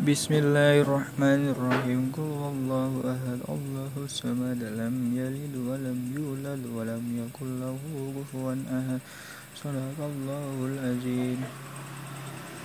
Bismillahirrahmanirrahim. Qul huwallahu ahad. Allahus samad. Lam yalid wa lam yulad wa lam yakul lahu kufuwan ahad. Shadaqallahul azim.